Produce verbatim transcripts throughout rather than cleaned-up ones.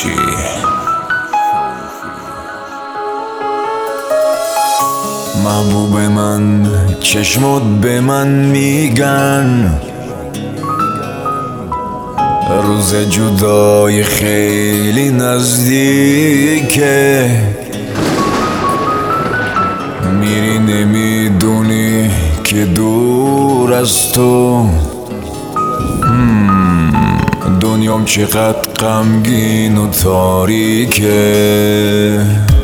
خروشی. محبوب من چشمات به من میگن روز جدای خیلی نزدیکه، میری نمیدونی که دور از تو دنیام چقدر غمگین و تاریکه.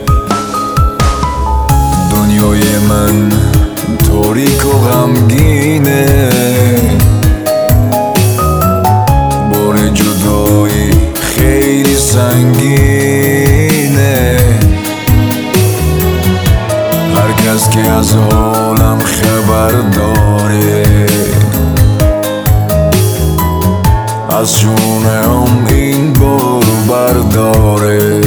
دنیای من تاریک و غمگینه، بار جدایی خیلی سنگینه. هر کس که از حالم خبر داره از شونه هم این بارو برداره.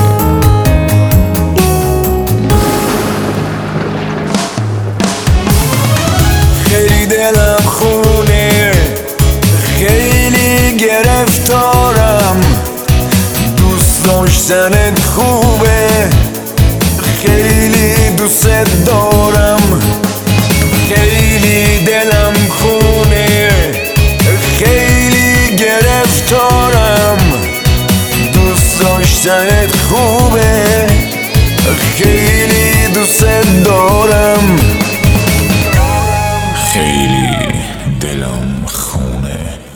خیلی دلم خونه، خیلی گرفتارم، دوست داشتنت خوبه، خیلی دوست دارم. خیلی دلم خونه، خیلی گرفتارم، دوست داشتنت خوبه، خیلی دوست دارم. خیلی دلم خونه.